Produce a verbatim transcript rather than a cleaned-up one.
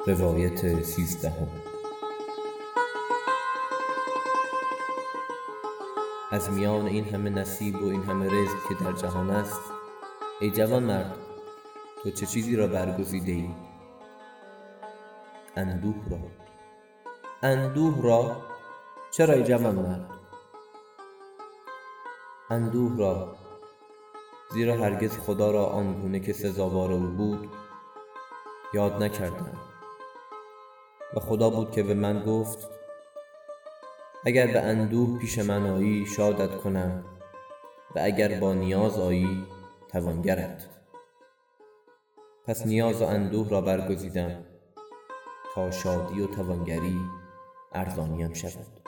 روایت سیزدهم. از میان این همه نصیب و این همه رزق که در جهان است، ای جوان مرد، تو چه چیزی را برگزیده ای؟ اندوه را. اندوه را؟ چرا ای جوان مرد؟ اندوه را، زیرا هرگز خدا را آنگونه که سزاوار او بود یاد نکردم و خدا بود که به من گفت اگر به اندوه پیش من آیی شادت کنم و اگر با نیاز آیی توانگرت. پس نیاز و اندوه را برگزیدم تا شادی و توانگری ارزانیم شود.